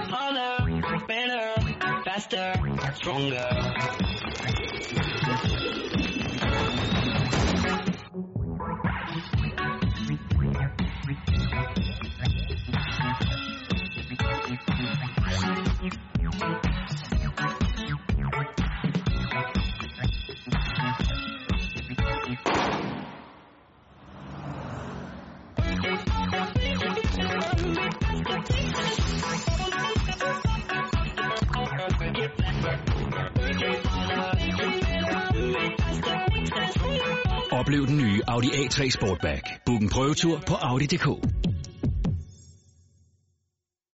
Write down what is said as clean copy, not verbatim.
harder, better, faster, stronger. Oplev den nye Audi A3 Sportback. Book en prøvetur på Audi.dk.